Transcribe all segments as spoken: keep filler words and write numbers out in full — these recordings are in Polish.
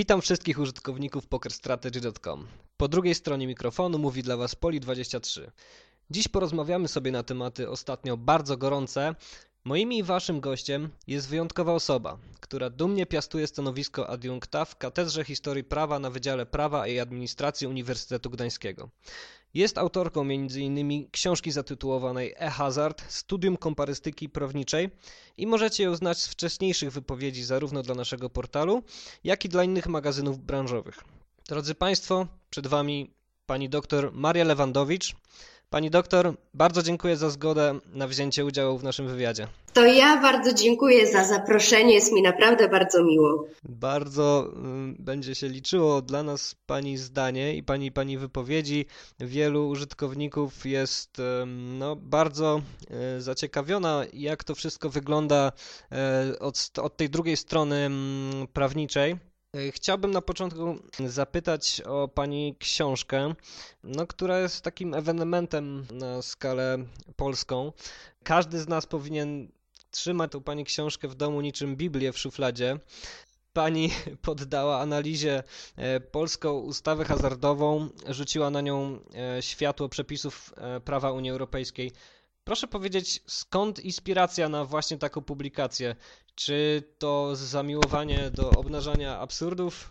Witam wszystkich użytkowników poker strategy kropka com. Po drugiej stronie mikrofonu mówi dla Was Poli dwadzieścia trzy. Dziś porozmawiamy sobie na tematy ostatnio bardzo gorące. Moim i Waszym gościem jest wyjątkowa osoba, która dumnie piastuje stanowisko adiunkta w Katedrze Historii Prawa na Wydziale Prawa i Administracji Uniwersytetu Gdańskiego. Jest autorką między innymi książki zatytułowanej E-Hazard – Studium komparystyki prawniczej i możecie ją znać z wcześniejszych wypowiedzi zarówno dla naszego portalu, jak i dla innych magazynów branżowych. Drodzy Państwo, przed Wami pani doktor Maria Lewandowicz. Pani doktor, bardzo dziękuję za zgodę na wzięcie udziału w naszym wywiadzie. To ja bardzo dziękuję za zaproszenie, jest mi naprawdę bardzo miło. Bardzo y, będzie się liczyło dla nas Pani zdanie i Pani, pani wypowiedzi. Wielu użytkowników jest y, no, bardzo y, zaciekawiona, jak to wszystko wygląda y, od, od tej drugiej strony y, prawniczej. Chciałbym na początku zapytać o Pani książkę, no, która jest takim ewenementem na skalę polską. Każdy z nas powinien trzymać tą Pani książkę w domu niczym Biblię w szufladzie. Pani poddała analizie polską ustawę hazardową, rzuciła na nią światło przepisów prawa Unii Europejskiej. Proszę powiedzieć, skąd inspiracja na właśnie taką publikację? Czy to zamiłowanie do obnażania absurdów?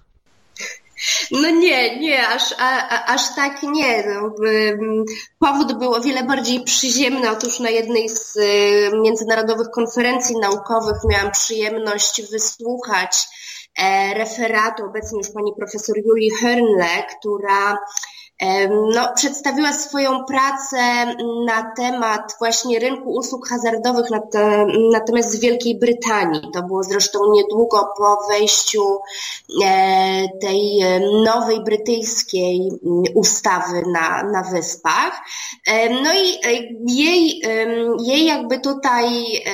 No nie, nie, aż, a, aż tak nie. No, powód był o wiele bardziej przyziemny. Otóż na jednej z międzynarodowych konferencji naukowych miałam przyjemność wysłuchać referatu obecnie już pani profesor Julii Hörnle, która No, przedstawiła swoją pracę na temat właśnie rynku usług hazardowych natomiast w Wielkiej Brytanii. To było zresztą niedługo po wejściu tej nowej brytyjskiej ustawy na, na Wyspach. No i jej, jej jakby tutaj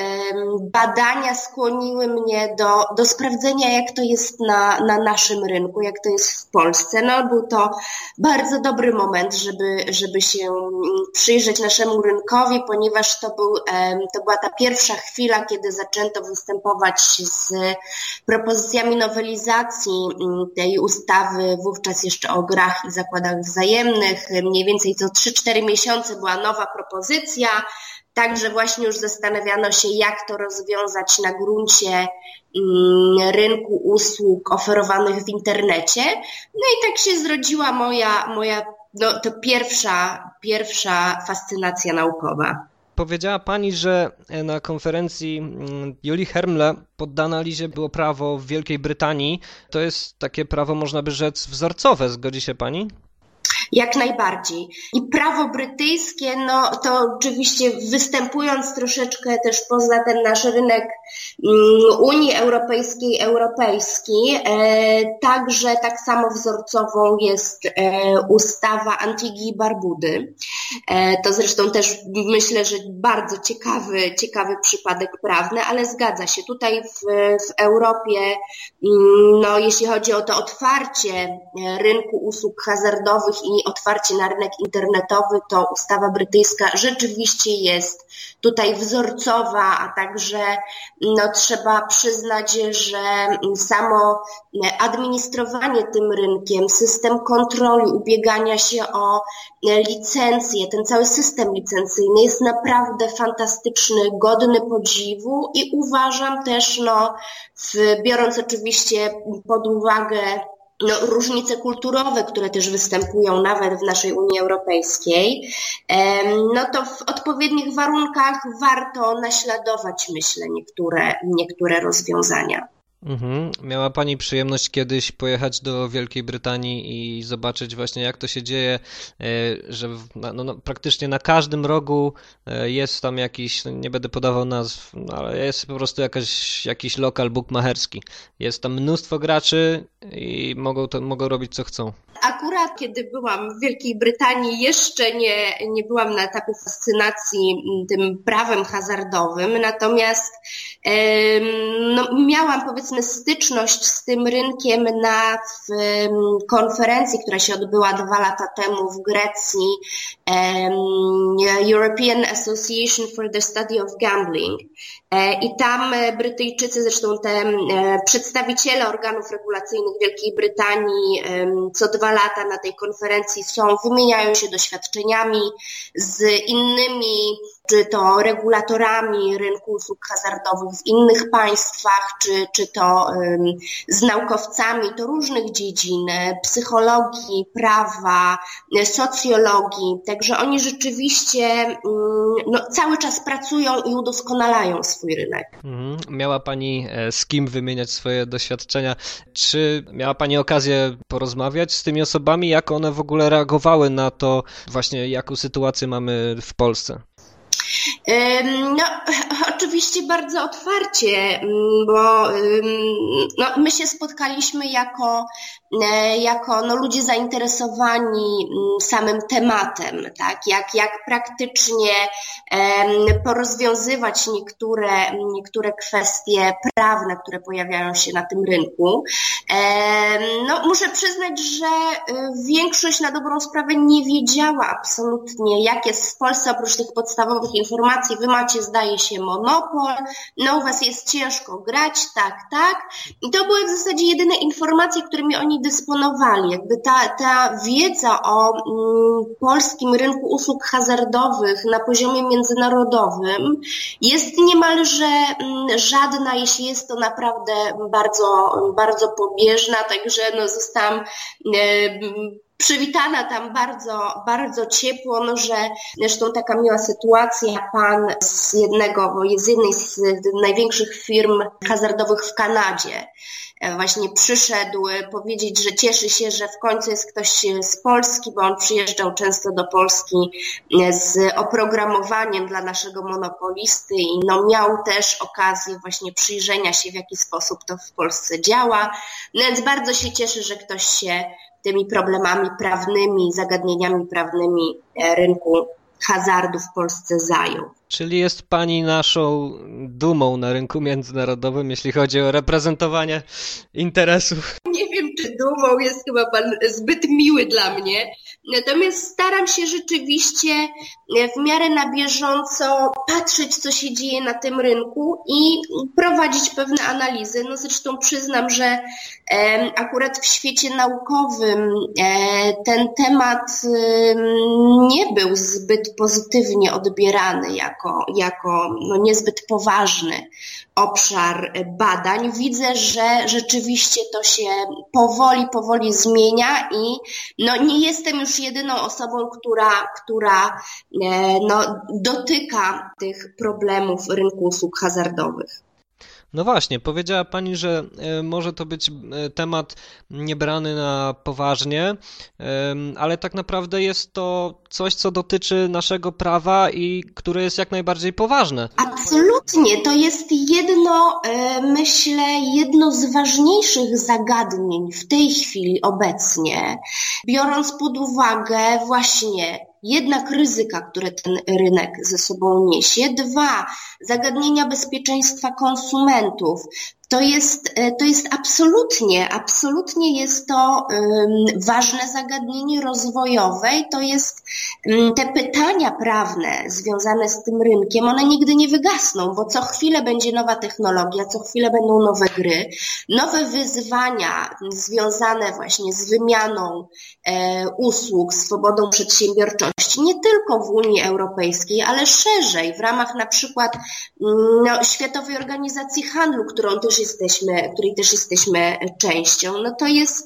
badania skłoniły mnie do, do sprawdzenia, jak to jest na, na naszym rynku, jak to jest w Polsce. No, był to bardzo dobry dobry moment, żeby, żeby się przyjrzeć naszemu rynkowi, ponieważ to, był, to była ta pierwsza chwila, kiedy zaczęto występować z propozycjami nowelizacji tej ustawy, wówczas jeszcze o grach i zakładach wzajemnych. Mniej więcej co trzy cztery miesiące była nowa propozycja. Także właśnie już zastanawiano się, jak to rozwiązać na gruncie rynku usług oferowanych w internecie. No i tak się zrodziła moja, moja no, to pierwsza, pierwsza fascynacja naukowa. Powiedziała Pani, że na konferencji Julii Hörnle poddane analizie było prawo w Wielkiej Brytanii. To jest takie prawo, można by rzec, wzorcowe. Zgodzi się Pani? Jak najbardziej. I prawo brytyjskie, no to oczywiście występując troszeczkę też poza ten nasz rynek Unii Europejskiej, europejski, e, także tak samo wzorcową jest e, ustawa Antigui i Barbudy. E, to zresztą też myślę, że bardzo ciekawy, ciekawy przypadek prawny, ale zgadza się. Tutaj w, w Europie, no jeśli chodzi o to otwarcie rynku usług hazardowych i otwarcie na rynek internetowy, to ustawa brytyjska rzeczywiście jest tutaj wzorcowa, a także no, trzeba przyznać, że samo administrowanie tym rynkiem, system kontroli, ubiegania się o licencje, ten cały system licencyjny jest naprawdę fantastyczny, godny podziwu i uważam też, no, w, biorąc oczywiście pod uwagę No, różnice kulturowe, które też występują nawet w naszej Unii Europejskiej, no to w odpowiednich warunkach warto naśladować, myślę, niektóre, niektóre rozwiązania. Mhm. Miała Pani przyjemność kiedyś pojechać do Wielkiej Brytanii i zobaczyć właśnie, jak to się dzieje, że no, no, praktycznie na każdym rogu jest tam jakiś, no, nie będę podawał nazw, no, ale jest po prostu jakaś, jakiś lokal bukmacherski. Jest tam mnóstwo graczy i mogą, to, mogą robić co chcą. Akurat kiedy byłam w Wielkiej Brytanii, jeszcze nie, nie byłam na etapie fascynacji tym prawem hazardowym, natomiast no, miałam powiedzmy styczność z tym rynkiem na w, konferencji, która się odbyła dwa lata temu w Grecji, um, European Association for the Study of Gambling. I tam Brytyjczycy, zresztą te przedstawiciele organów regulacyjnych Wielkiej Brytanii co dwa lata na tej konferencji są, wymieniają się doświadczeniami z innymi, czy to regulatorami rynku usług hazardowych w innych państwach, czy, czy to um, z naukowcami to różnych dziedzin, psychologii, prawa, socjologii. Także oni rzeczywiście um, no, cały czas pracują i udoskonalają swój rynek. Mhm. Miała Pani z kim wymieniać swoje doświadczenia. Czy miała Pani okazję porozmawiać z tymi osobami, jak one w ogóle reagowały na to właśnie, jaką sytuację mamy w Polsce? No, oczywiście bardzo otwarcie, bo no, my się spotkaliśmy jako, jako no, ludzie zainteresowani samym tematem, tak? jak, jak praktycznie porozwiązywać niektóre, niektóre kwestie prawne, które pojawiają się na tym rynku. No, muszę przyznać, że większość na dobrą sprawę nie wiedziała absolutnie, jak jest w Polsce oprócz tych podstawowych informacji. Wy macie, zdaje się, monopol, no u was jest ciężko grać, tak, tak. I to były w zasadzie jedyne informacje, którymi oni dysponowali. Jakby ta, ta wiedza o mm, polskim rynku usług hazardowych na poziomie międzynarodowym jest niemalże mm, żadna, jeśli jest to naprawdę bardzo, bardzo pobieżna, także no zostałam e, przywitana tam bardzo, bardzo ciepło, no, że zresztą taka miła sytuacja, pan z jednego, z jednej z największych firm hazardowych w Kanadzie właśnie przyszedł powiedzieć, że cieszy się, że w końcu jest ktoś z Polski, bo on przyjeżdżał często do Polski z oprogramowaniem dla naszego monopolisty i no miał też okazję właśnie przyjrzenia się, w jaki sposób to w Polsce działa, no więc bardzo się cieszy, że ktoś się tymi problemami prawnymi, zagadnieniami prawnymi rynku hazardu w Polsce zajął. Czyli jest Pani naszą dumą na rynku międzynarodowym, jeśli chodzi o reprezentowanie interesów. Nie wiem, czy dumą, jest chyba Pan zbyt miły dla mnie. Natomiast staram się rzeczywiście w miarę na bieżąco patrzeć, co się dzieje na tym rynku i prowadzić pewne analizy. No zresztą przyznam, że e, akurat w świecie naukowym e, ten temat e, nie był zbyt pozytywnie odbierany jako, jako no, niezbyt poważny obszar badań. Widzę, że rzeczywiście to się powoli, powoli zmienia i no, nie jestem już jedyną osobą, która, która no, dotyka tych problemów rynku usług hazardowych. No właśnie, powiedziała Pani, że może to być temat niebrany na poważnie, ale tak naprawdę jest to coś, co dotyczy naszego prawa i które jest jak najbardziej poważne. Absolutnie, to jest jedno, myślę, jedno z ważniejszych zagadnień w tej chwili obecnie, biorąc pod uwagę właśnie jednak ryzyka, które ten rynek ze sobą niesie. Dwa, zagadnienia bezpieczeństwa konsumentów. To jest, to jest absolutnie, absolutnie jest to um, ważne zagadnienie rozwojowe i to jest um, te pytania prawne związane z tym rynkiem, one nigdy nie wygasną, bo co chwilę będzie nowa technologia, co chwilę będą nowe gry, nowe wyzwania związane właśnie z wymianą e, usług, swobodą przedsiębiorczości, nie tylko w Unii Europejskiej, ale szerzej, w ramach na przykład no, Światowej Organizacji Handlu, którą też jesteśmy, której też jesteśmy częścią, no to jest,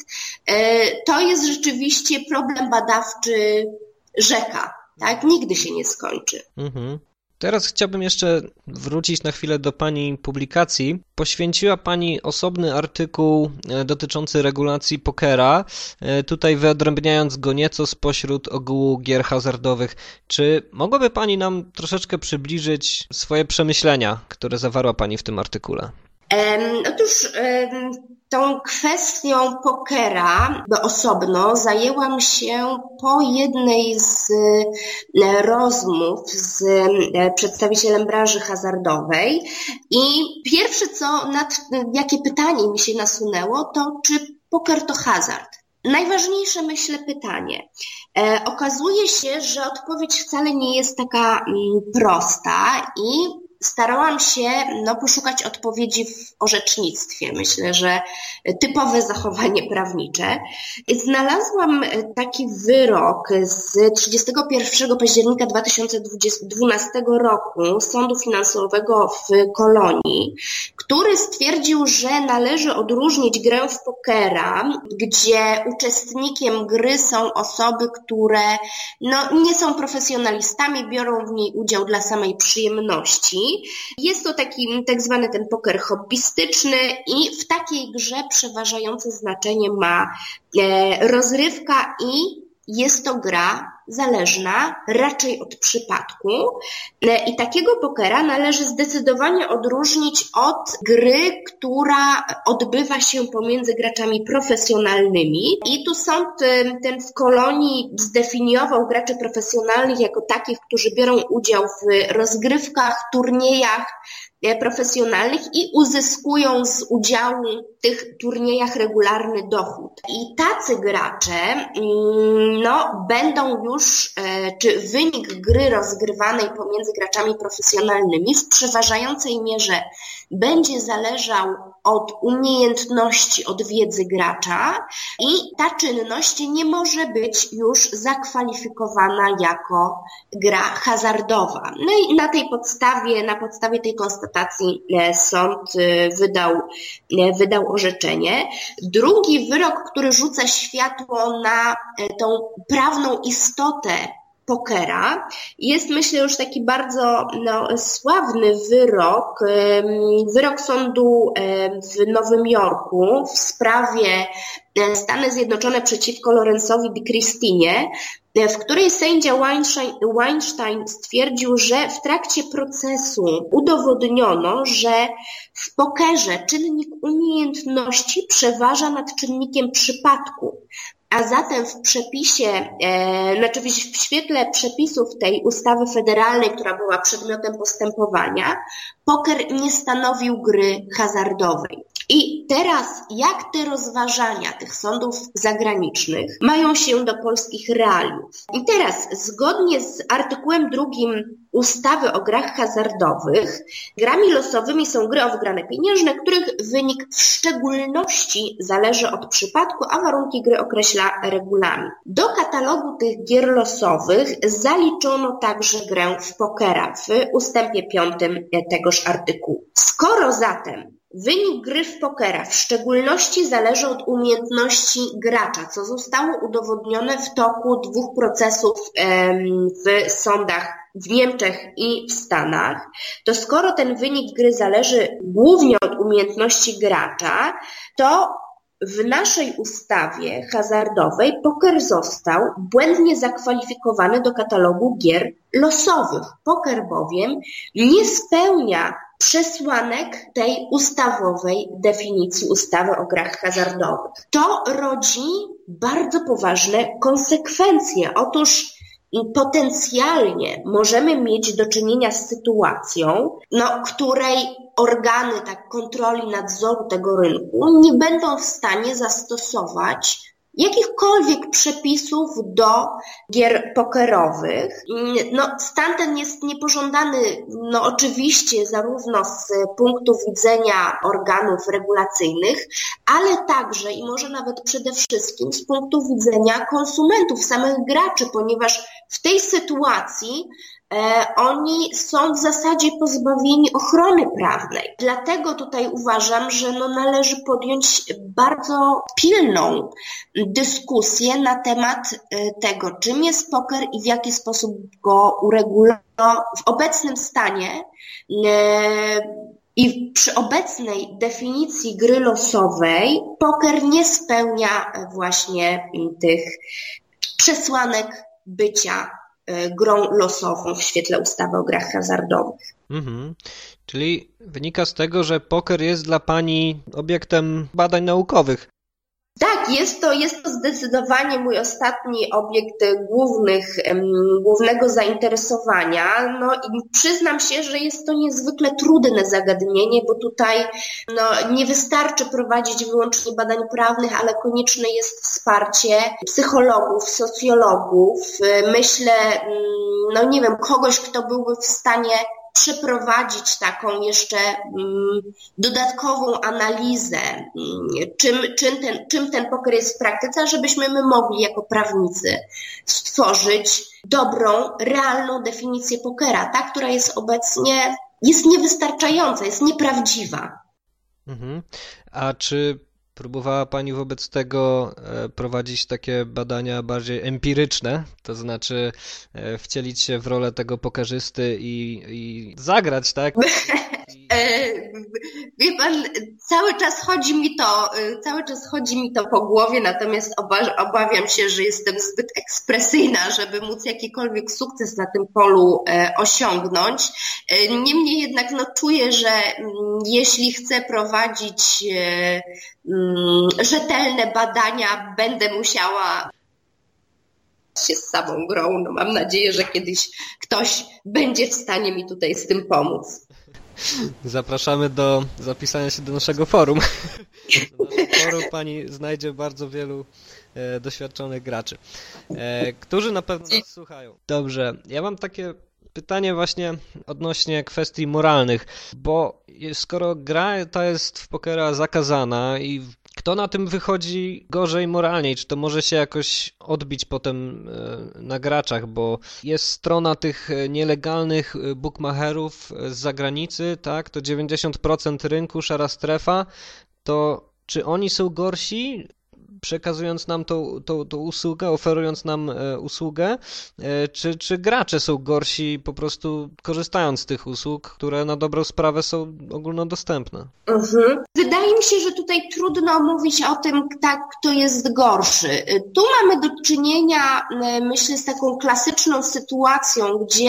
to jest rzeczywiście problem badawczy rzeka, tak? Nigdy się nie skończy. Mhm. Teraz chciałbym jeszcze wrócić na chwilę do Pani publikacji. Poświęciła Pani osobny artykuł dotyczący regulacji pokera, tutaj wyodrębniając go nieco spośród ogółu gier hazardowych. Czy mogłaby Pani nam troszeczkę przybliżyć swoje przemyślenia, które zawarła Pani w tym artykule? Um, otóż um, tą kwestią pokera osobno zajęłam się po jednej z e, rozmów z e, przedstawicielem branży hazardowej i pierwsze co, nad, jakie pytanie mi się nasunęło, to czy poker to hazard? Najważniejsze, myślę, pytanie. E, okazuje się, że odpowiedź wcale nie jest taka mm, prosta i starałam się no, poszukać odpowiedzi w orzecznictwie. Myślę, że typowe zachowanie prawnicze. Znalazłam taki wyrok z trzydziestego pierwszego października dwa tysiące dwunastego roku Sądu Finansowego w Kolonii, który stwierdził, że należy odróżnić grę w pokera, gdzie uczestnikiem gry są osoby, które no, nie są profesjonalistami, biorą w niej udział dla samej przyjemności. Jest to taki tak zwany ten poker hobbystyczny i w takiej grze przeważające znaczenie ma e, rozrywka i jest to gra zależna raczej od przypadku i takiego pokera należy zdecydowanie odróżnić od gry, która odbywa się pomiędzy graczami profesjonalnymi. I tu sąd ten w Kolonii zdefiniował graczy profesjonalnych jako takich, którzy biorą udział w rozgrywkach, turniejach profesjonalnych i uzyskują z udziału w tych turniejach regularny dochód. I tacy gracze no, będą już, czy wynik gry rozgrywanej pomiędzy graczami profesjonalnymi w przeważającej mierze będzie zależał od umiejętności, od wiedzy gracza i ta czynność nie może być już zakwalifikowana jako gra hazardowa. No i na tej podstawie, na podstawie tej konstatacji sąd wydał, wydał orzeczenie. Drugi wyrok, który rzuca światło na tą prawną istotę pokera, jest myślę już taki bardzo no, sławny wyrok, wyrok sądu w Nowym Jorku w sprawie Stany Zjednoczone przeciwko Lawrence'owi de Christinie, w której sędzia Weinstein, Weinstein stwierdził, że w trakcie procesu udowodniono, że w pokerze czynnik umiejętności przeważa nad czynnikiem przypadku. A zatem w przepisie, e, znaczy w świetle przepisów tej ustawy federalnej, która była przedmiotem postępowania, poker nie stanowił gry hazardowej. I teraz jak te rozważania tych sądów zagranicznych mają się do polskich realiów? I teraz zgodnie z artykułem drugim ustawy o grach hazardowych, grami losowymi są gry o wygrane pieniężne, których wynik w szczególności zależy od przypadku, a warunki gry określa regulamin. Do katalogu tych gier losowych zaliczono także grę w pokera w ustępie piątym tegoż artykułu. Skoro zatem wynik gry w pokera w szczególności zależy od umiejętności gracza, co zostało udowodnione w toku dwóch procesów w sądach w Niemczech i w Stanach, to skoro ten wynik gry zależy głównie od umiejętności gracza, to w naszej ustawie hazardowej poker został błędnie zakwalifikowany do katalogu gier losowych. Poker bowiem nie spełnia przesłanek tej ustawowej definicji ustawy o grach hazardowych. To rodzi bardzo poważne konsekwencje. Otóż potencjalnie możemy mieć do czynienia z sytuacją, no, której organy tak, kontroli nadzoru tego rynku nie będą w stanie zastosować jakichkolwiek przepisów do gier pokerowych. No, stan ten jest niepożądany, no oczywiście zarówno z punktu widzenia organów regulacyjnych, ale także i może nawet przede wszystkim z punktu widzenia konsumentów, samych graczy, ponieważ w tej sytuacji E, oni są w zasadzie pozbawieni ochrony prawnej. Dlatego tutaj uważam, że no należy podjąć bardzo pilną dyskusję na temat tego, czym jest poker i w jaki sposób go uregulować. W obecnym stanie e, i przy obecnej definicji gry losowej poker nie spełnia właśnie tych przesłanek bycia grą losową w świetle ustawy o grach hazardowych. Mhm. Czyli wynika z tego, że poker jest dla Pani obiektem badań naukowych. Tak, jest to, jest to zdecydowanie mój ostatni obiekt głównych, głównego zainteresowania. No i przyznam się, że jest to niezwykle trudne zagadnienie, bo tutaj no, nie wystarczy prowadzić wyłącznie badań prawnych, ale konieczne jest wsparcie psychologów, socjologów. Myślę, no nie wiem, kogoś, kto byłby w stanie przeprowadzić taką jeszcze dodatkową analizę, czym, czym, ten, czym ten poker jest w praktyce, żebyśmy my mogli jako prawnicy stworzyć dobrą, realną definicję pokera, ta, która jest obecnie jest niewystarczająca, jest nieprawdziwa. Mhm. A czy próbowała Pani wobec tego prowadzić takie badania bardziej empiryczne, to znaczy wcielić się w rolę tego pokerzysty i, i zagrać, tak? Wie pan, cały czas chodzi mi to, cały czas chodzi mi to po głowie, natomiast obawiam się, że jestem zbyt ekspresyjna, żeby móc jakikolwiek sukces na tym polu osiągnąć. Niemniej jednak no, czuję, że jeśli chcę prowadzić rzetelne badania, będę musiała się z samą grą. No, mam nadzieję, że kiedyś ktoś będzie w stanie mi tutaj z tym pomóc. Zapraszamy do zapisania się do naszego forum. Do naszego forum Pani znajdzie bardzo wielu e, doświadczonych graczy, e, którzy na pewno nas słuchają. Dobrze, ja mam takie pytanie właśnie odnośnie kwestii moralnych, bo skoro gra ta jest w pokera zakazana i kto na tym wychodzi gorzej moralnie? Czy to może się jakoś odbić potem na graczach, bo jest strona tych nielegalnych bookmacherów z zagranicy, tak? To dziewięćdziesiąt procent rynku, szara strefa, to czy oni są gorsi, przekazując nam tą, tą, tą usługę, oferując nam usługę, czy, czy gracze są gorsi po prostu korzystając z tych usług, które na dobrą sprawę są ogólnodostępne? Mhm. Wydaje mi się, że tutaj trudno mówić o tym, tak, kto jest gorszy. Tu mamy do czynienia, myślę, z taką klasyczną sytuacją, gdzie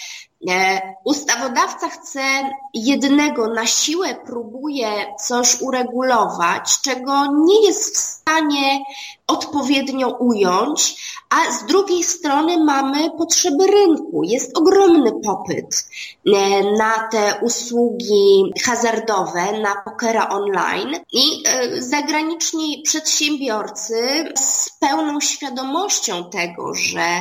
ustawodawca chce jednego, na siłę próbuje coś uregulować, czego nie jest w stanie odpowiednio ująć, a z drugiej strony mamy potrzeby rynku. Jest ogromny popyt na te usługi hazardowe, na pokera online i zagraniczni przedsiębiorcy z pełną świadomością tego, że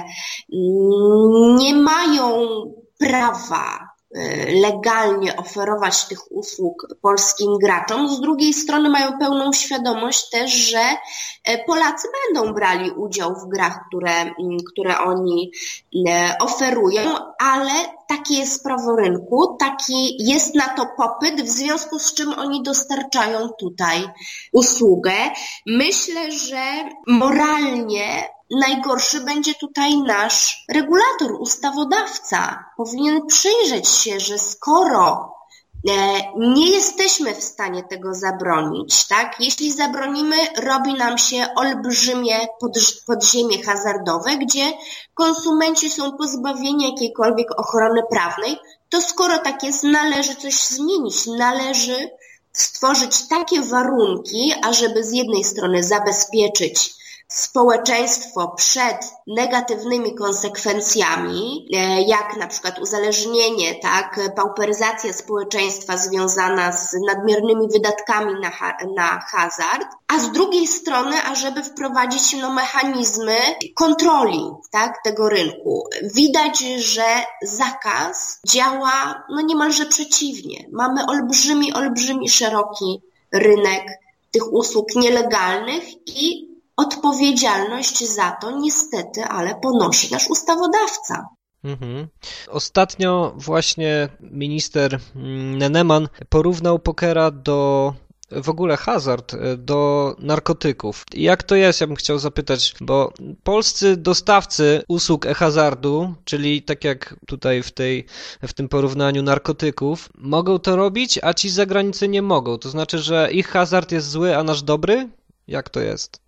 nie mają prawa legalnie oferować tych usług polskim graczom. Z drugiej strony mają pełną świadomość też, że Polacy będą brali udział w grach, które, które oni oferują, ale takie jest prawo rynku, taki jest na to popyt, w związku z czym oni dostarczają tutaj usługę. Myślę, że moralnie najgorszy będzie tutaj nasz regulator, ustawodawca. Powinien przyjrzeć się, że skoro nie jesteśmy w stanie tego zabronić, tak? Jeśli zabronimy, robi nam się olbrzymie podziemie hazardowe, gdzie konsumenci są pozbawieni jakiejkolwiek ochrony prawnej, to skoro tak jest, należy coś zmienić, należy stworzyć takie warunki, ażeby z jednej strony zabezpieczyć społeczeństwo przed negatywnymi konsekwencjami, jak na przykład uzależnienie, tak, pauperyzacja społeczeństwa związana z nadmiernymi wydatkami na, ha- na hazard, a z drugiej strony, ażeby wprowadzić no, mechanizmy kontroli, tak, tego rynku. Widać, że zakaz działa no, niemalże przeciwnie. Mamy olbrzymi, olbrzymi, szeroki rynek tych usług nielegalnych i odpowiedzialność za to niestety, ale ponosi nasz ustawodawca. Mhm. Ostatnio właśnie minister Neneman porównał pokera do, w ogóle hazard, do narkotyków. Jak to jest, ja bym chciał zapytać, bo polscy dostawcy usług e-hazardu, czyli tak jak tutaj w, tej, w tym porównaniu narkotyków, mogą to robić, a ci z zagranicy nie mogą. To znaczy, że ich hazard jest zły, a nasz dobry? Jak to jest?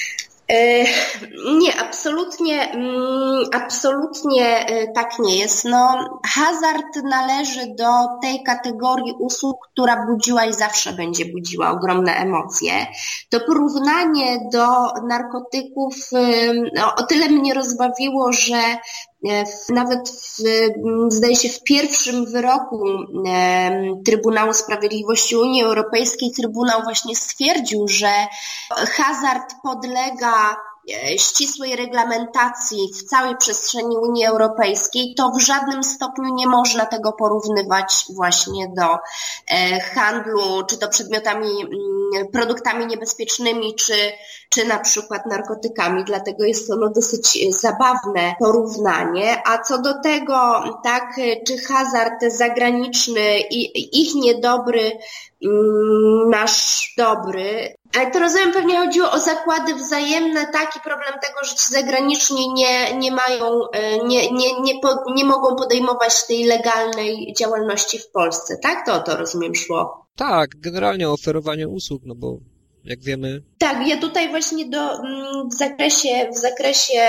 Nie, absolutnie, absolutnie tak nie jest. No, hazard należy do tej kategorii usług, która budziła i zawsze będzie budziła ogromne emocje. To porównanie do narkotyków no, o tyle mnie rozbawiło, że nawet w, zdaje się w pierwszym wyroku Trybunału Sprawiedliwości Unii Europejskiej Trybunał właśnie stwierdził, że hazard podlega ścisłej reglamentacji w całej przestrzeni Unii Europejskiej, to w żadnym stopniu nie można tego porównywać właśnie do handlu, czy to przedmiotami, produktami niebezpiecznymi, czy, czy na przykład narkotykami. Dlatego jest ono dosyć zabawne porównanie. A co do tego, tak, czy hazard zagraniczny i ich niedobry, nasz dobry. Ale to rozumiem, pewnie chodziło o zakłady wzajemne, taki problem tego, że ci zagraniczni nie, nie mają, nie, nie, nie, po, nie mogą podejmować tej legalnej działalności w Polsce, tak? To o to rozumiem szło. Tak, generalnie oferowanie usług, no bo jak wiemy... Tak, ja tutaj właśnie do, w zakresie, w zakresie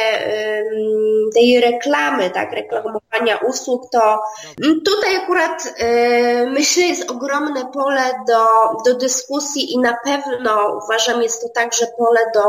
tej reklamy, tak, reklamowania usług, to tutaj akurat myślę, jest ogromne pole do, do dyskusji i na pewno uważam, jest to także pole do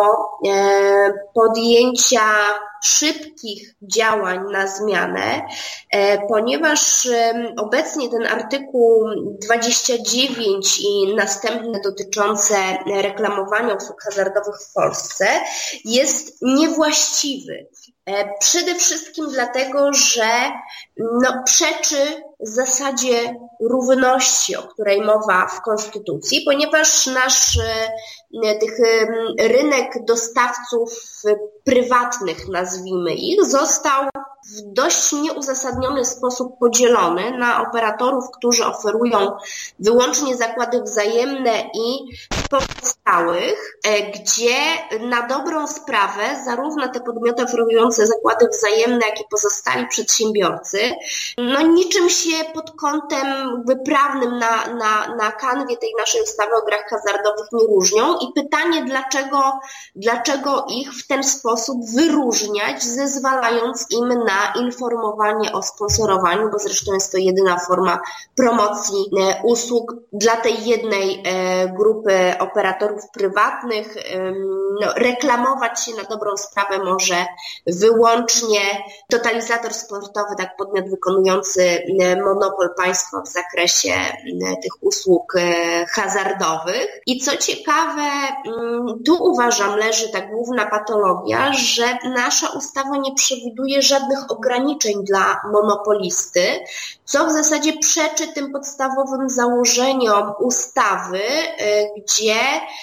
podjęcia szybkich działań na zmianę, ponieważ obecnie ten artykuł dwadzieścia dziewięć i następne dotyczące reklamowania usług hazardowych w Polsce jest niewłaściwy. Przede wszystkim dlatego, że no, przeczy zasadzie równości, o której mowa w Konstytucji, ponieważ nasz tych rynek dostawców prywatnych, nazwijmy ich, został w dość nieuzasadniony sposób podzielony na operatorów, którzy oferują wyłącznie zakłady wzajemne i pozostałych, gdzie na dobrą sprawę zarówno te podmioty oferujące zakłady wzajemne, jak i pozostali przedsiębiorcy, no niczym się pod kątem jakby prawnym na, na, na kanwie tej naszej ustawy o grach hazardowych nie różnią i pytanie, dlaczego, dlaczego ich w ten sposób wyróżniać, zezwalając im na informowanie o sponsorowaniu, bo zresztą jest to jedyna forma promocji usług dla tej jednej grupy operatorów prywatnych. No, reklamować się na dobrą sprawę może wyłącznie totalizator sportowy, tak podmiot wykonujący monopol państwa w zakresie tych usług hazardowych. I co ciekawe, tu uważam leży ta główna patologia, że nasza ustawa nie przewiduje żadnych ograniczeń dla monopolisty, co w zasadzie przeczy tym podstawowym założeniom ustawy, gdzie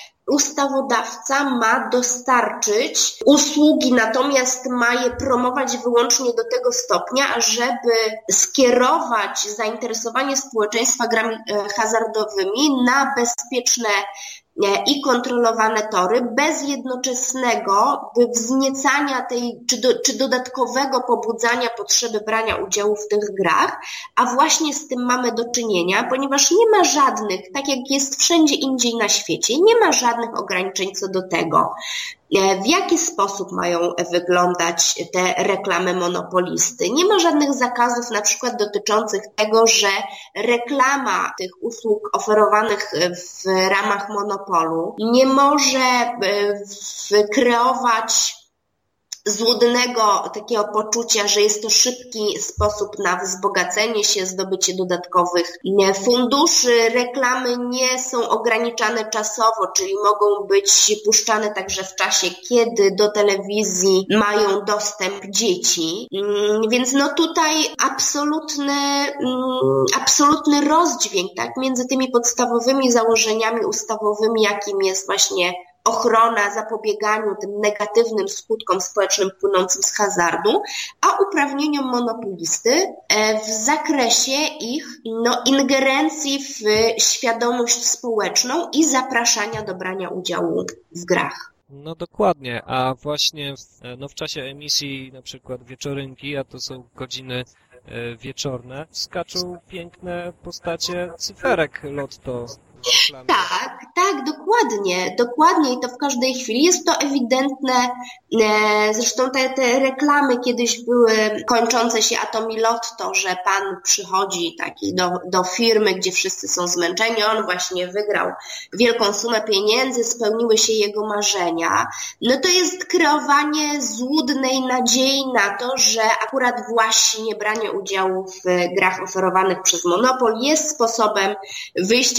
ustawodawca ma dostarczyć usługi, natomiast ma je promować wyłącznie do tego stopnia, ażeby skierować zainteresowanie społeczeństwa grami hazardowymi na bezpieczne i kontrolowane tory, bez jednoczesnego wzniecania tej, czy, do, czy dodatkowego pobudzania potrzeby brania udziału w tych grach, a właśnie z tym mamy do czynienia, ponieważ nie ma żadnych, tak jak jest wszędzie indziej na świecie, nie ma żadnych ograniczeń co do tego, w jaki sposób mają wyglądać te reklamy monopolisty. Nie ma żadnych zakazów na przykład dotyczących tego, że reklama tych usług oferowanych w ramach monopolu nie może kreować złudnego takiego poczucia, że jest to szybki sposób na wzbogacenie się, zdobycie dodatkowych funduszy. Reklamy nie są ograniczane czasowo, czyli mogą być puszczane także w czasie, kiedy do telewizji mają dostęp dzieci. Więc no tutaj absolutny, absolutny rozdźwięk, tak, między tymi podstawowymi założeniami ustawowymi, jakim jest właśnie ochrona, zapobieganiu tym negatywnym skutkom społecznym płynącym z hazardu, a uprawnieniom monopolisty w zakresie ich no, ingerencji w świadomość społeczną i zapraszania do brania udziału w grach. No dokładnie, a właśnie w, no, w czasie emisji na przykład wieczorynki, a to są godziny e, wieczorne, skaczą piękne postacie cyferek lotto. Tak, tak, dokładnie, dokładnie i to w każdej chwili. Jest to ewidentne, zresztą te, te reklamy kiedyś były kończące się Atomi Lotto, że pan przychodzi taki do, do firmy, gdzie wszyscy są zmęczeni, on właśnie wygrał wielką sumę pieniędzy, spełniły się jego marzenia. No to jest kreowanie złudnej nadziei na to, że akurat właśnie branie udziału w grach oferowanych przez monopol jest sposobem wyjścia z trudnej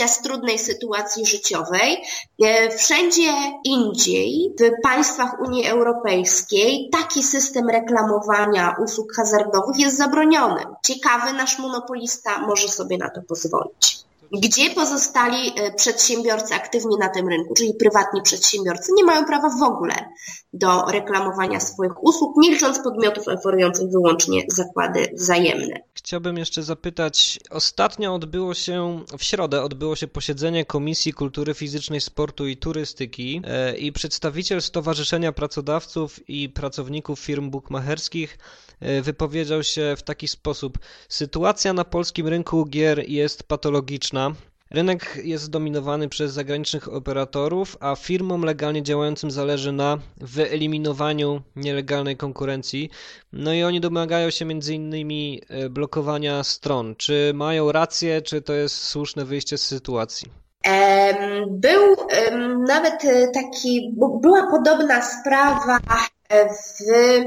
trudnej sytuacji życiowej. Wszędzie indziej, w państwach Unii Europejskiej, taki system reklamowania usług hazardowych jest zabroniony. Ciekawy nasz monopolista może sobie na to pozwolić. Gdzie pozostali przedsiębiorcy aktywni na tym rynku, czyli prywatni przedsiębiorcy, nie mają prawa w ogóle do reklamowania swoich usług, nie licząc podmiotów oferujących wyłącznie zakłady wzajemne. Chciałbym jeszcze zapytać, ostatnio odbyło się, w środę odbyło się posiedzenie Komisji Kultury Fizycznej, Sportu i Turystyki i przedstawiciel Stowarzyszenia Pracodawców i Pracowników Firm Bukmacherskich wypowiedział się w taki sposób: sytuacja na polskim rynku gier jest patologiczna. Rynek jest zdominowany przez zagranicznych operatorów, a firmom legalnie działającym zależy na wyeliminowaniu nielegalnej konkurencji. No i oni domagają się między innymi blokowania stron. Czy mają rację, czy to jest słuszne wyjście z sytuacji? Był nawet taki, była podobna sprawa w,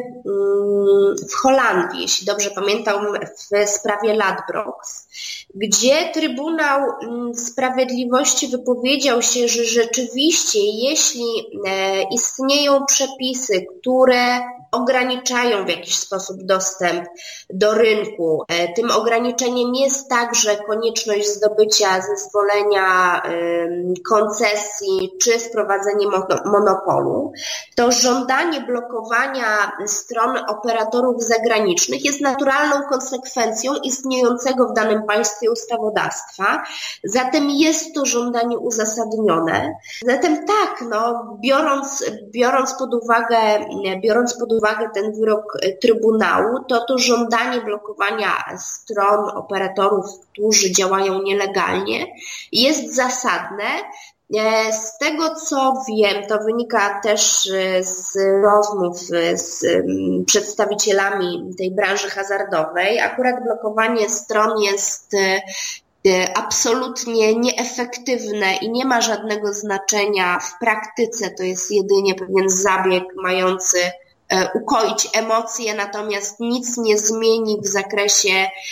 w Holandii, jeśli dobrze pamiętam, w sprawie Ladbrokes, gdzie Trybunał Sprawiedliwości wypowiedział się, że rzeczywiście jeśli istnieją przepisy, które ograniczają w jakiś sposób dostęp do rynku, tym ograniczeniem jest także konieczność zdobycia zezwolenia, koncesji czy wprowadzenie monopolu, to żądanie blokowania stron operatorów zagranicznych jest naturalną konsekwencją istniejącego w danym państwie ustawodawstwa, zatem jest to żądanie uzasadnione. Zatem tak, no, biorąc, biorąc pod uwagę, biorąc pod uwagę ten wyrok Trybunału, to to żądanie blokowania stron operatorów, którzy działają nielegalnie, jest zasadne. Z tego co wiem, to wynika też z rozmów z przedstawicielami tej branży hazardowej, akurat blokowanie stron jest absolutnie nieefektywne i nie ma żadnego znaczenia w praktyce, to jest jedynie pewien zabieg mający ukoić emocje, natomiast nic nie zmieni w zakresie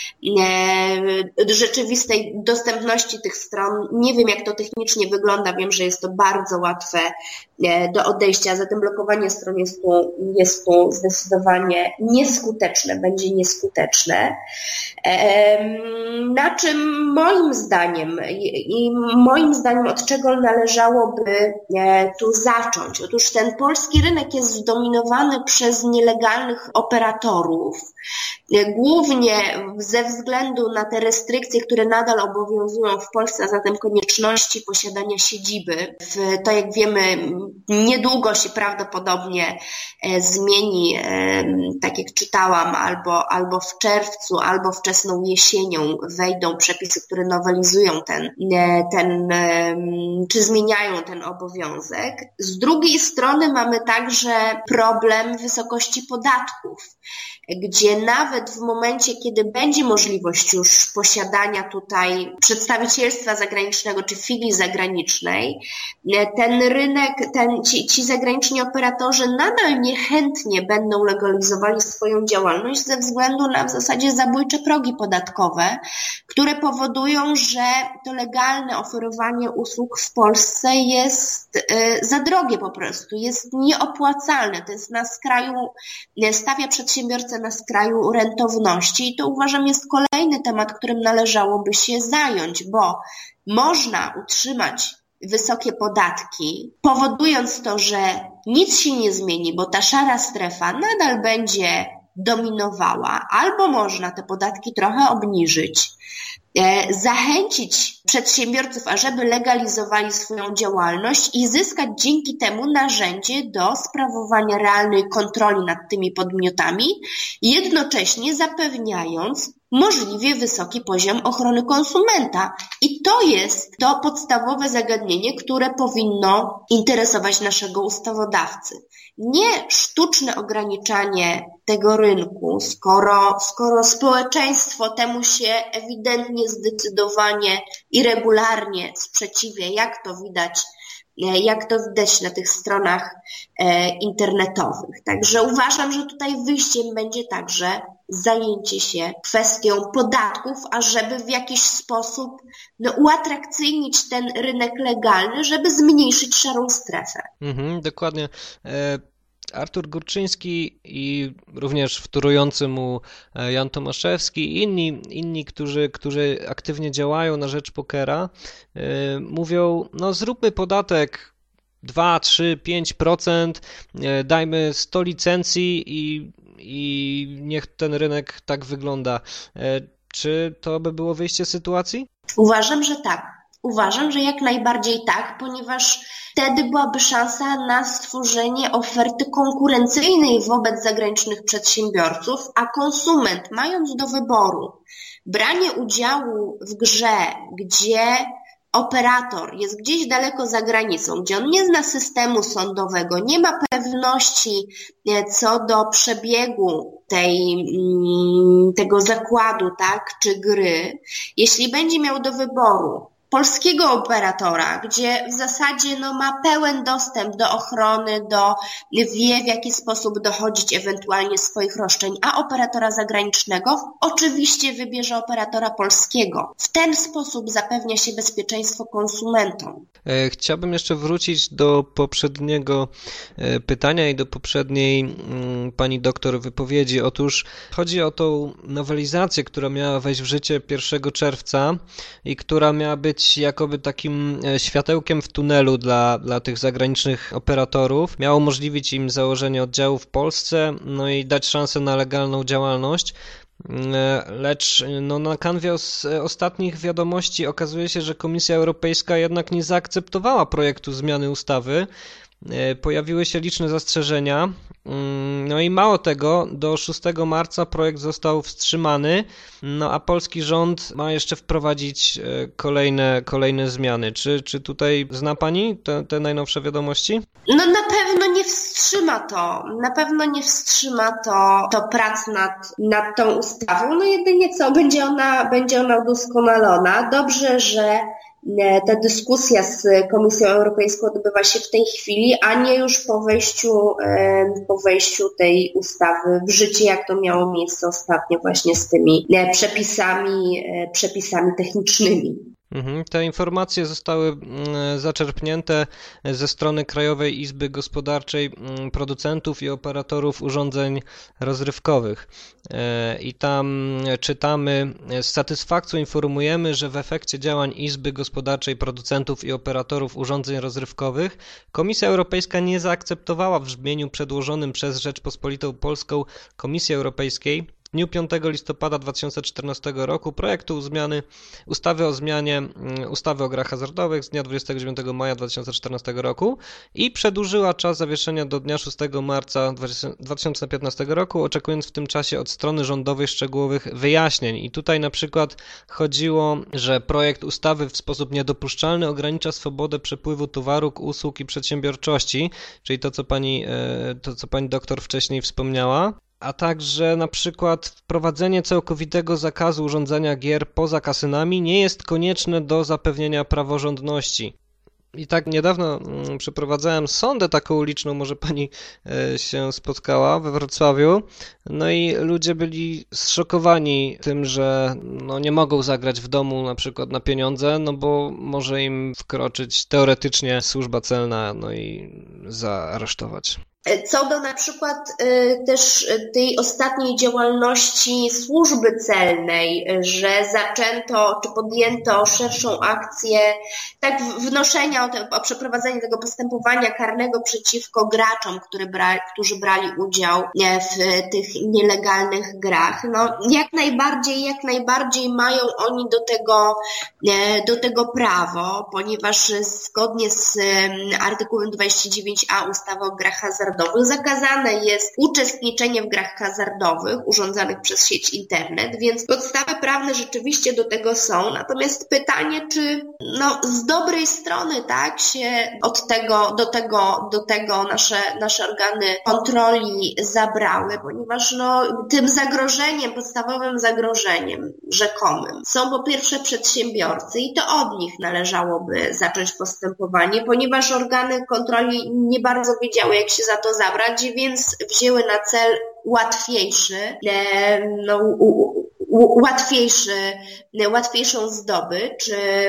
rzeczywistej dostępności tych stron. Nie wiem, jak to technicznie wygląda, wiem, że jest to bardzo łatwe do odejścia, zatem blokowanie stron jest tu, jest tu zdecydowanie nieskuteczne, będzie nieskuteczne. Na czym moim zdaniem i moim zdaniem od czego należałoby tu zacząć? Otóż ten polski rynek jest zdominowany przez nielegalnych operatorów, głównie ze względu na te restrykcje, które nadal obowiązują w Polsce, a zatem konieczności posiadania siedziby. W, to jak wiemy, niedługo się prawdopodobnie zmieni, tak jak czytałam, albo, albo w czerwcu, albo wczesną jesienią wejdą przepisy, które nowelizują ten, ten, czy zmieniają ten obowiązek. Z drugiej strony mamy także problem wysokości podatków, gdzie nawet w momencie, kiedy będzie możliwość już posiadania tutaj przedstawicielstwa zagranicznego czy filii zagranicznej, ten rynek, ten, ci, ci zagraniczni operatorzy nadal niechętnie będą legalizowali swoją działalność ze względu na w zasadzie zabójcze progi podatkowe, które powodują, że to legalne oferowanie usług w Polsce jest y, za drogie po prostu, jest nieopłacalne, to jest na skraju, stawia przedsiębiorcę na skraju rentowności i to uważam jest kolejny temat, którym należałoby się zająć, bo można utrzymać wysokie podatki, powodując to, że nic się nie zmieni, bo ta szara strefa nadal będzie dominowała, albo można te podatki trochę obniżyć, zachęcić przedsiębiorców, ażeby legalizowali swoją działalność i zyskać dzięki temu narzędzie do sprawowania realnej kontroli nad tymi podmiotami, jednocześnie zapewniając możliwie wysoki poziom ochrony konsumenta. I to jest to podstawowe zagadnienie, które powinno interesować naszego ustawodawcy. Nie sztuczne ograniczanie tego rynku, skoro, skoro społeczeństwo temu się ewidentnie, zdecydowanie i regularnie sprzeciwia, jak to widać jak to widać na tych stronach internetowych. Także uważam, że tutaj wyjściem będzie także zajęcie się kwestią podatków, ażeby w jakiś sposób no, uatrakcyjnić ten rynek legalny, żeby zmniejszyć szarą strefę. Mhm, dokładnie. Artur Górczyński i również wtórujący mu Jan Tomaszewski i inni, inni którzy, którzy aktywnie działają na rzecz pokera, mówią, no zróbmy podatek dwa, trzy, pięć procent, dajmy sto licencji i, i niech ten rynek tak wygląda. Czy to by było wyjście z sytuacji? Uważam, że tak. Uważam, że jak najbardziej tak, ponieważ wtedy byłaby szansa na stworzenie oferty konkurencyjnej wobec zagranicznych przedsiębiorców, a konsument, mając do wyboru branie udziału w grze, gdzie operator jest gdzieś daleko za granicą, gdzie on nie zna systemu sądowego, nie ma pewności co do przebiegu tej, tego zakładu, tak, czy gry, jeśli będzie miał do wyboru polskiego operatora, gdzie w zasadzie no, ma pełen dostęp do ochrony, do, wie w jaki sposób dochodzić ewentualnie swoich roszczeń, a operatora zagranicznego oczywiście wybierze operatora polskiego. W ten sposób zapewnia się bezpieczeństwo konsumentom. Chciałbym jeszcze wrócić do poprzedniego pytania i do poprzedniej pani doktor wypowiedzi. Otóż chodzi o tą nowelizację, która miała wejść w życie pierwszego czerwca i która miała być jakoby takim światełkiem w tunelu dla, dla tych zagranicznych operatorów. Miało umożliwić im założenie oddziału w Polsce, no i dać szansę na legalną działalność. Lecz no, na kanwie os, ostatnich wiadomości okazuje się, że Komisja Europejska jednak nie zaakceptowała projektu zmiany ustawy. Pojawiły się liczne zastrzeżenia. No i mało tego, do szóstego marca projekt został wstrzymany, no a polski rząd ma jeszcze wprowadzić kolejne, kolejne zmiany. Czy, czy tutaj zna Pani te, te najnowsze wiadomości? No na pewno nie wstrzyma to, na pewno nie wstrzyma to, to prac nad, nad tą ustawą, no jedynie co, będzie ona, będzie ona udoskonalona. Dobrze, że ta dyskusja z Komisją Europejską odbywa się w tej chwili, a nie już po wejściu, po wejściu tej ustawy w życie, jak to miało miejsce ostatnio właśnie z tymi przepisami, przepisami technicznymi. Te informacje zostały zaczerpnięte ze strony Krajowej Izby Gospodarczej Producentów i Operatorów Urządzeń Rozrywkowych. I tam czytamy: z satysfakcją informujemy, że w efekcie działań Izby Gospodarczej Producentów i Operatorów Urządzeń Rozrywkowych Komisja Europejska nie zaakceptowała w brzmieniu przedłożonym przez Rzeczpospolitą Polską Komisji Europejskiej w dniu piątego listopada dwa tysiące czternastego roku projektu zmiany ustawy o zmianie ustawy o grach hazardowych z dnia dwudziestego dziewiątego maja dwa tysiące czternastego roku i przedłużyła czas zawieszenia do dnia szóstego marca dwa tysiące piętnastego roku, oczekując w tym czasie od strony rządowej szczegółowych wyjaśnień. I tutaj na przykład chodziło, że projekt ustawy w sposób niedopuszczalny ogranicza swobodę przepływu towarów, usług i przedsiębiorczości, czyli to, co pani, to, co pani doktor wcześniej wspomniała. A także na przykład wprowadzenie całkowitego zakazu urządzania gier poza kasynami nie jest konieczne do zapewnienia praworządności. I tak niedawno przeprowadzałem sondę taką uliczną, może pani się spotkała, we Wrocławiu. No i ludzie byli zszokowani tym, że no nie mogą zagrać w domu na przykład na pieniądze, no bo może im wkroczyć teoretycznie służba celna, no i zaaresztować. Co do na przykład y, też tej ostatniej działalności służby celnej, że zaczęto czy podjęto szerszą akcję tak wnoszenia o, te, o przeprowadzenie tego postępowania karnego przeciwko graczom, który bra, którzy brali udział w tych nielegalnych grach. No, jak najbardziej, jak najbardziej mają oni do tego, do tego prawo, ponieważ zgodnie z artykułem dwudziestym dziewiątym a ustawy o grach hazardowych hazardowych, zakazane jest uczestniczenie w grach hazardowych urządzanych przez sieć internet, więc podstawy prawne rzeczywiście do tego są. Natomiast pytanie, czy no, z dobrej strony tak się od tego, do tego, do tego nasze, nasze organy kontroli zabrały, ponieważ no, tym zagrożeniem, podstawowym zagrożeniem rzekomym są po pierwsze przedsiębiorcy i to od nich należałoby zacząć postępowanie, ponieważ organy kontroli nie bardzo wiedziały, jak się za to zabrać, więc wzięły na cel łatwiejszy, no, łatwiejszy, łatwiejszą zdobycz.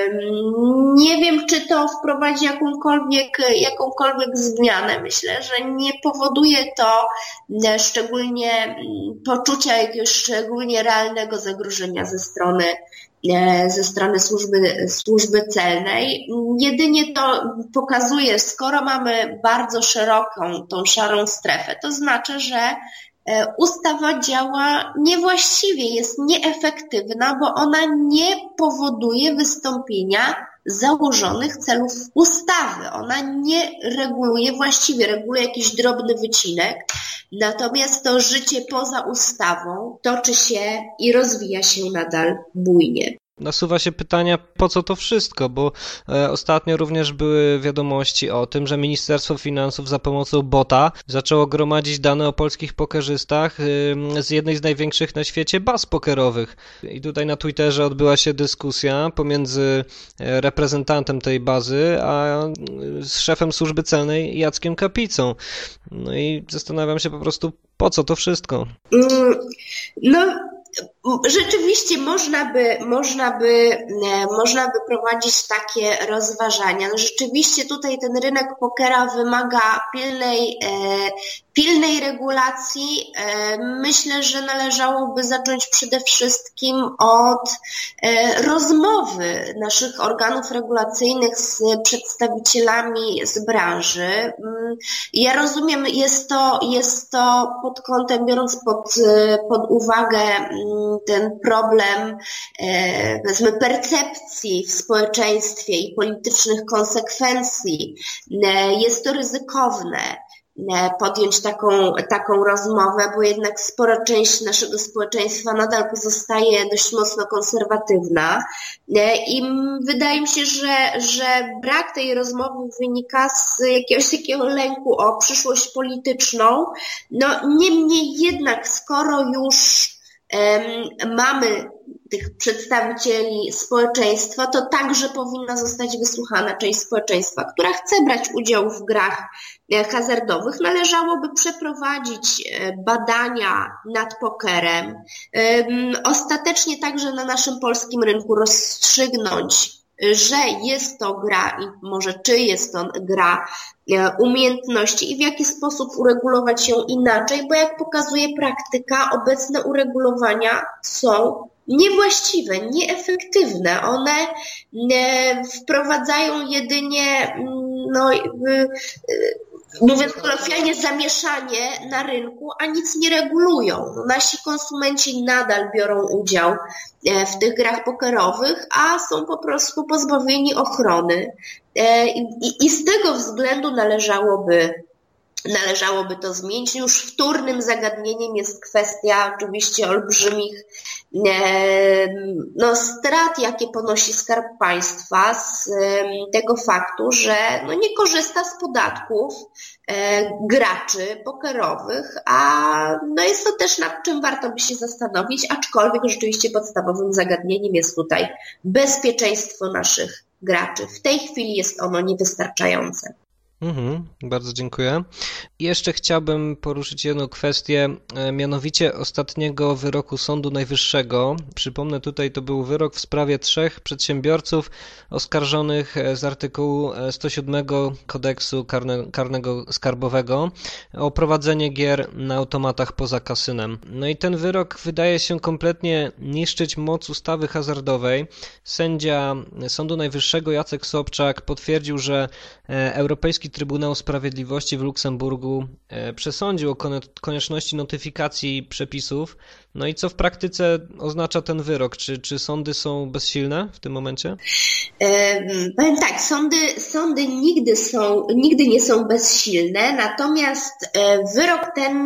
Nie wiem, czy to wprowadzi jakąkolwiek, jakąkolwiek zmianę. Myślę, że nie powoduje to szczególnie poczucia jakiegoś szczególnie realnego zagrożenia ze strony ze strony służby, służby celnej. Jedynie to pokazuje, skoro mamy bardzo szeroką tą szarą strefę, to znaczy, że ustawa działa niewłaściwie, jest nieefektywna, bo ona nie powoduje wystąpienia założonych celów ustawy. Ona nie reguluje właściwie, reguluje jakiś drobny wycinek, natomiast to życie poza ustawą toczy się i rozwija się nadal bujnie. Nasuwa się pytania, po co to wszystko, bo e, ostatnio również były wiadomości o tym, że Ministerstwo Finansów za pomocą bota zaczęło gromadzić dane o polskich pokerzystach e, z jednej z największych na świecie baz pokerowych. I tutaj na Twitterze odbyła się dyskusja pomiędzy reprezentantem tej bazy, a e, z szefem służby celnej Jackiem Kapicą. No i zastanawiam się po prostu, po co to wszystko? Mm, no... Rzeczywiście można by, można by, można by prowadzić takie rozważania. No rzeczywiście tutaj ten rynek pokera wymaga pilnej, pilnej regulacji. Myślę, że należałoby zacząć przede wszystkim od rozmowy naszych organów regulacyjnych z przedstawicielami z branży. Ja rozumiem, jest to, jest to pod kątem, biorąc pod, pod uwagę ten problem, powiedzmy, percepcji w społeczeństwie i politycznych konsekwencji. Jest to ryzykowne podjąć taką, taką rozmowę, bo jednak spora część naszego społeczeństwa nadal pozostaje dość mocno konserwatywna i wydaje mi się, że, że brak tej rozmowy wynika z jakiegoś takiego lęku o przyszłość polityczną. No niemniej jednak, skoro już mamy tych przedstawicieli społeczeństwa, to także powinna zostać wysłuchana część społeczeństwa, która chce brać udział w grach hazardowych. Należałoby przeprowadzić badania nad pokerem, ostatecznie także na naszym polskim rynku rozstrzygnąć, że jest to gra i może czy jest to gra umiejętności i w jaki sposób uregulować ją inaczej, bo jak pokazuje praktyka, obecne uregulowania są niewłaściwe, nieefektywne. One wprowadzają jedynie, no, mówiąc kolokwialnie, zamieszanie na rynku, a nic nie regulują. Nasi konsumenci nadal biorą udział w tych grach pokerowych, a są po prostu pozbawieni ochrony. I, i z tego względu należałoby Należałoby to zmienić. Już wtórnym zagadnieniem jest kwestia oczywiście olbrzymich no, strat, jakie ponosi Skarb Państwa z tego faktu, że no, nie korzysta z podatków graczy pokerowych, a no, jest to też nad czym warto by się zastanowić, aczkolwiek rzeczywiście podstawowym zagadnieniem jest tutaj bezpieczeństwo naszych graczy. W tej chwili jest ono niewystarczające. Mhm, bardzo dziękuję. I jeszcze chciałbym poruszyć jedną kwestię, mianowicie ostatniego wyroku Sądu Najwyższego. Przypomnę, tutaj to był wyrok w sprawie trzech przedsiębiorców oskarżonych z artykułu sto siódmego Kodeksu karne, Karnego Skarbowego o prowadzenie gier na automatach poza kasynem. No i ten wyrok wydaje się kompletnie niszczyć moc ustawy hazardowej. Sędzia Sądu Najwyższego Jacek Sobczak potwierdził, że Europejski Trybunał Sprawiedliwości w Luksemburgu przesądził o konieczności notyfikacji przepisów. No i co w praktyce oznacza ten wyrok? Czy, czy sądy są bezsilne w tym momencie? Powiem tak, sądy, sądy nigdy, są, nigdy nie są bezsilne, natomiast wyrok ten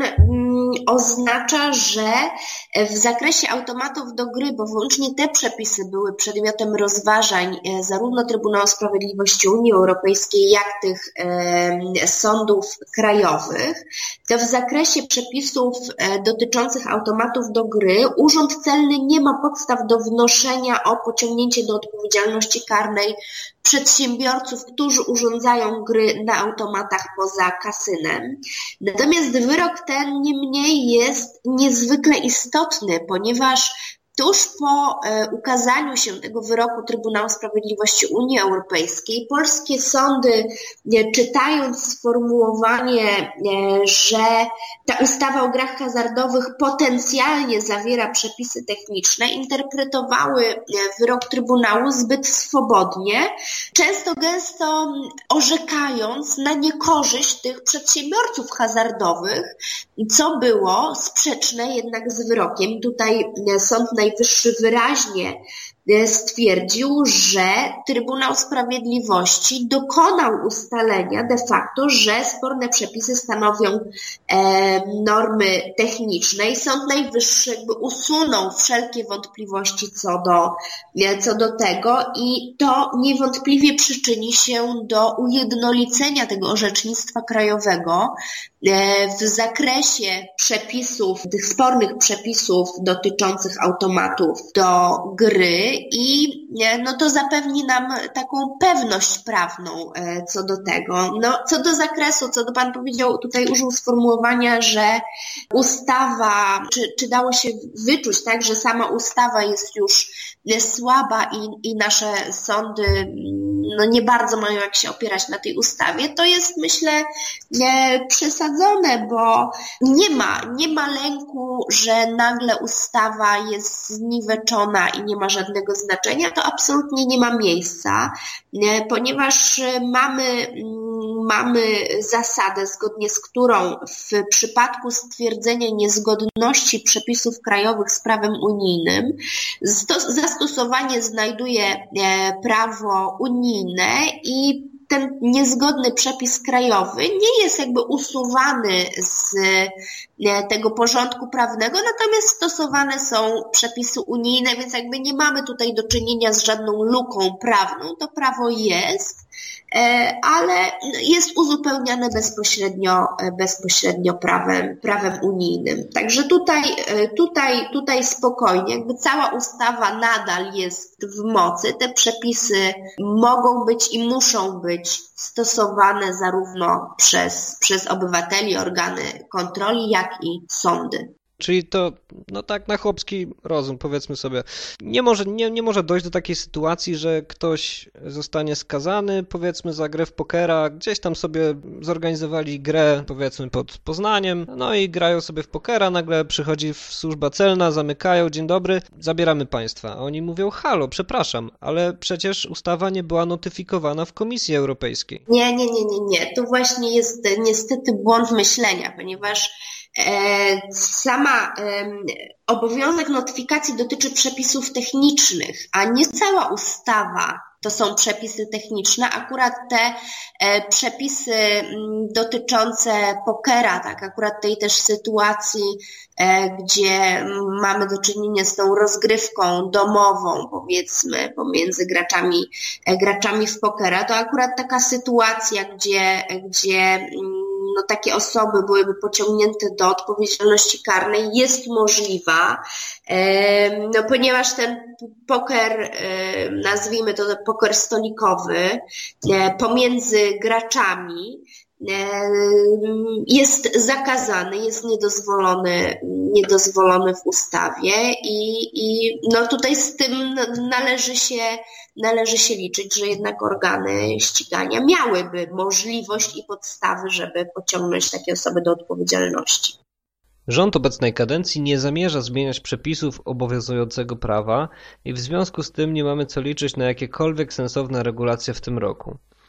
oznacza, że w zakresie automatów do gry, bo wyłącznie te przepisy były przedmiotem rozważań zarówno Trybunału Sprawiedliwości Unii Europejskiej, jak tych e, sądów krajowych, to w zakresie przepisów e, dotyczących automatów do gry Urząd Celny nie ma podstaw do wnoszenia o pociągnięcie do odpowiedzialności karnej przedsiębiorców, którzy urządzają gry na automatach poza kasynem. Natomiast wyrok ten niemniej jest niezwykle istotny, ponieważ tuż po e, ukazaniu się tego wyroku Trybunału Sprawiedliwości Unii Europejskiej, polskie sądy, e, czytając sformułowanie, e, że ta ustawa o grach hazardowych potencjalnie zawiera przepisy techniczne, interpretowały e, wyrok Trybunału zbyt swobodnie, często gęsto orzekając na niekorzyść tych przedsiębiorców hazardowych, co było sprzeczne jednak z wyrokiem. Tutaj e, Sąd Najwyższy wyraźnie stwierdził, że Trybunał Sprawiedliwości dokonał ustalenia de facto, że sporne przepisy stanowią e, normy techniczne i Sąd Najwyższy jakby usunął wszelkie wątpliwości co do, co do tego i to niewątpliwie przyczyni się do ujednolicenia tego orzecznictwa krajowego e, w zakresie przepisów, tych spornych przepisów dotyczących automatów do gry i no to zapewni nam taką pewność prawną co do tego. No, co do zakresu, co do Pan powiedział, tutaj użył sformułowania, że ustawa, czy, czy dało się wyczuć, tak, że sama ustawa jest już słaba i, i nasze sądy no nie bardzo mają jak się opierać na tej ustawie, to jest, myślę, nie, przesadzone, bo nie ma, nie ma lęku, że nagle ustawa jest zniweczona i nie ma żadnego znaczenia, to absolutnie nie ma miejsca, ponieważ mamy, mamy zasadę, zgodnie z którą w przypadku stwierdzenia niezgodności przepisów krajowych z prawem unijnym zastosowanie znajduje prawo unijne i ten niezgodny przepis krajowy nie jest jakby usuwany z tego porządku prawnego, natomiast stosowane są przepisy unijne, więc jakby nie mamy tutaj do czynienia z żadną luką prawną, to prawo jest, ale jest uzupełniane bezpośrednio, bezpośrednio prawem, prawem unijnym. Także tutaj, tutaj, tutaj spokojnie, jakby cała ustawa nadal jest w mocy, te przepisy mogą być i muszą być stosowane zarówno przez, przez obywateli, organy kontroli, jak i sądy. Czyli to, no tak na chłopski rozum, powiedzmy sobie, nie może, nie, nie może dojść do takiej sytuacji, że ktoś zostanie skazany, powiedzmy, za grę w pokera, gdzieś tam sobie zorganizowali grę, powiedzmy, pod Poznaniem, no i grają sobie w pokera, nagle przychodzi służba celna, zamykają, dzień dobry, zabieramy państwa. A oni mówią, halo, przepraszam, ale przecież ustawa nie była notyfikowana w Komisji Europejskiej. Nie, nie, nie, nie, nie, to właśnie jest niestety błąd myślenia, ponieważ sama obowiązek notyfikacji dotyczy przepisów technicznych, a nie cała ustawa to są przepisy techniczne. Akurat te przepisy dotyczące pokera, tak, akurat tej też sytuacji, gdzie mamy do czynienia z tą rozgrywką domową, powiedzmy, pomiędzy graczami, graczami w pokera, to akurat taka sytuacja, gdzie, gdzie no, takie osoby byłyby pociągnięte do odpowiedzialności karnej, jest możliwa, no, ponieważ ten poker, nazwijmy to poker stolikowy, pomiędzy graczami jest zakazany, jest niedozwolony, niedozwolony w ustawie i, i no tutaj z tym należy się, należy się liczyć, że jednak organy ścigania miałyby możliwość i podstawy, żeby pociągnąć takie osoby do odpowiedzialności. Rząd obecnej kadencji nie zamierza zmieniać przepisów obowiązującego prawa i w związku z tym nie mamy co liczyć na jakiekolwiek sensowne regulacje w tym roku.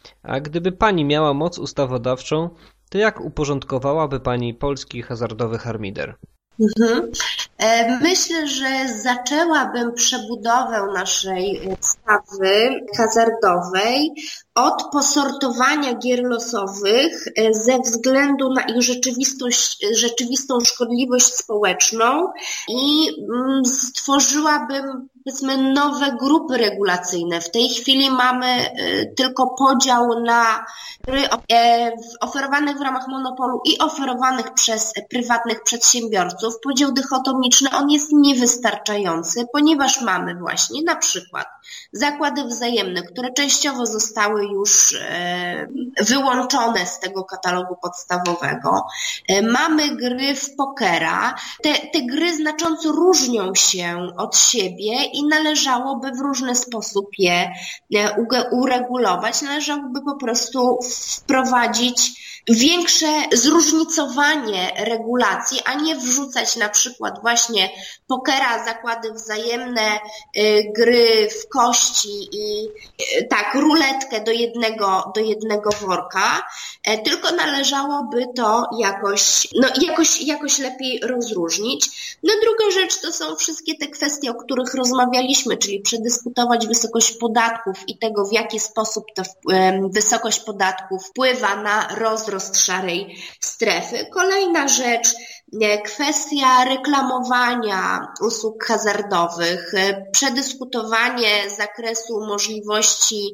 A gdyby pani miała moc ustawodawczą, to jak uporządkowałaby pani polski hazardowy harmider? Mhm. Myślę, że zaczęłabym przebudowę naszej ustawy hazardowej od posortowania gier losowych ze względu na ich rzeczywistość, rzeczywistą szkodliwość społeczną i stworzyłabym, powiedzmy, nowe grupy regulacyjne. W tej chwili mamy tylko podział na gry oferowane w ramach monopolu i oferowanych przez prywatnych przedsiębiorców. Podział dychotomiczny, on jest niewystarczający, ponieważ mamy właśnie na przykład zakłady wzajemne, które częściowo zostały już wyłączone z tego katalogu podstawowego. Mamy gry w pokera. Te, te gry znacząco różnią się od siebie i należałoby w różny sposób je uregulować. Należałoby po prostu wprowadzić większe zróżnicowanie regulacji, a nie wrzucać na przykład właśnie pokera, zakłady wzajemne, gry w kości i tak, ruletkę do jednego, do jednego worka, tylko należałoby to jakoś, no jakoś, jakoś lepiej rozróżnić. No druga rzecz to są wszystkie te kwestie, o których rozmawialiśmy, czyli przedyskutować wysokość podatków i tego, w jaki sposób ta wysokość podatków wpływa na rozrost szarej strefy. Kolejna rzecz, kwestia reklamowania usług hazardowych, przedyskutowanie zakresu możliwości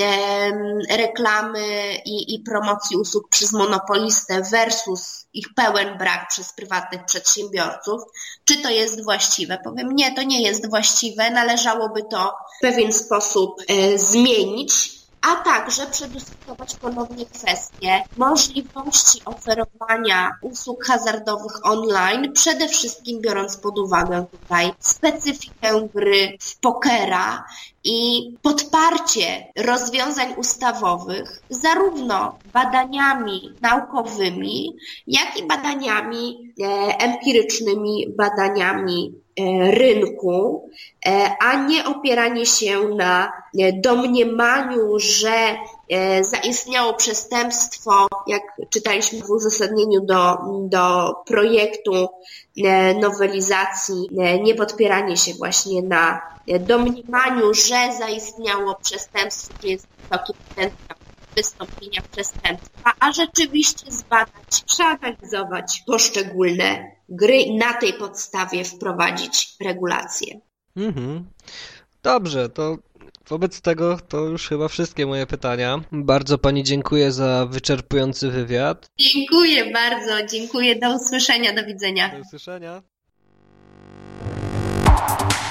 reklamy i, i promocji usług przez monopolistę versus ich pełen brak przez prywatnych przedsiębiorców. Czy to jest właściwe? Powiem, nie, to nie jest właściwe. Należałoby to w pewien sposób e, zmienić. A także przedyskutować ponownie kwestię możliwości oferowania usług hazardowych online, przede wszystkim biorąc pod uwagę tutaj specyfikę gry w pokera i podparcie rozwiązań ustawowych zarówno badaniami naukowymi, jak i badaniami e, empirycznymi, badaniami e, rynku, e, a nie opieranie się na e, domniemaniu, że e, zaistniało przestępstwo, jak czytaliśmy w uzasadnieniu do, do projektu e, nowelizacji, e, nie podpieranie się właśnie na e, domniemaniu, że zaistniało przestępstwo, że jest wysoki potencjał wystąpienia przestępstwa, a rzeczywiście zbadać, przeanalizować poszczególne gry i na tej podstawie wprowadzić regulacje. Mhm. Dobrze, to wobec tego to już chyba wszystkie moje pytania. Bardzo pani dziękuję za wyczerpujący wywiad. Dziękuję bardzo, dziękuję, do usłyszenia, do widzenia. Do usłyszenia.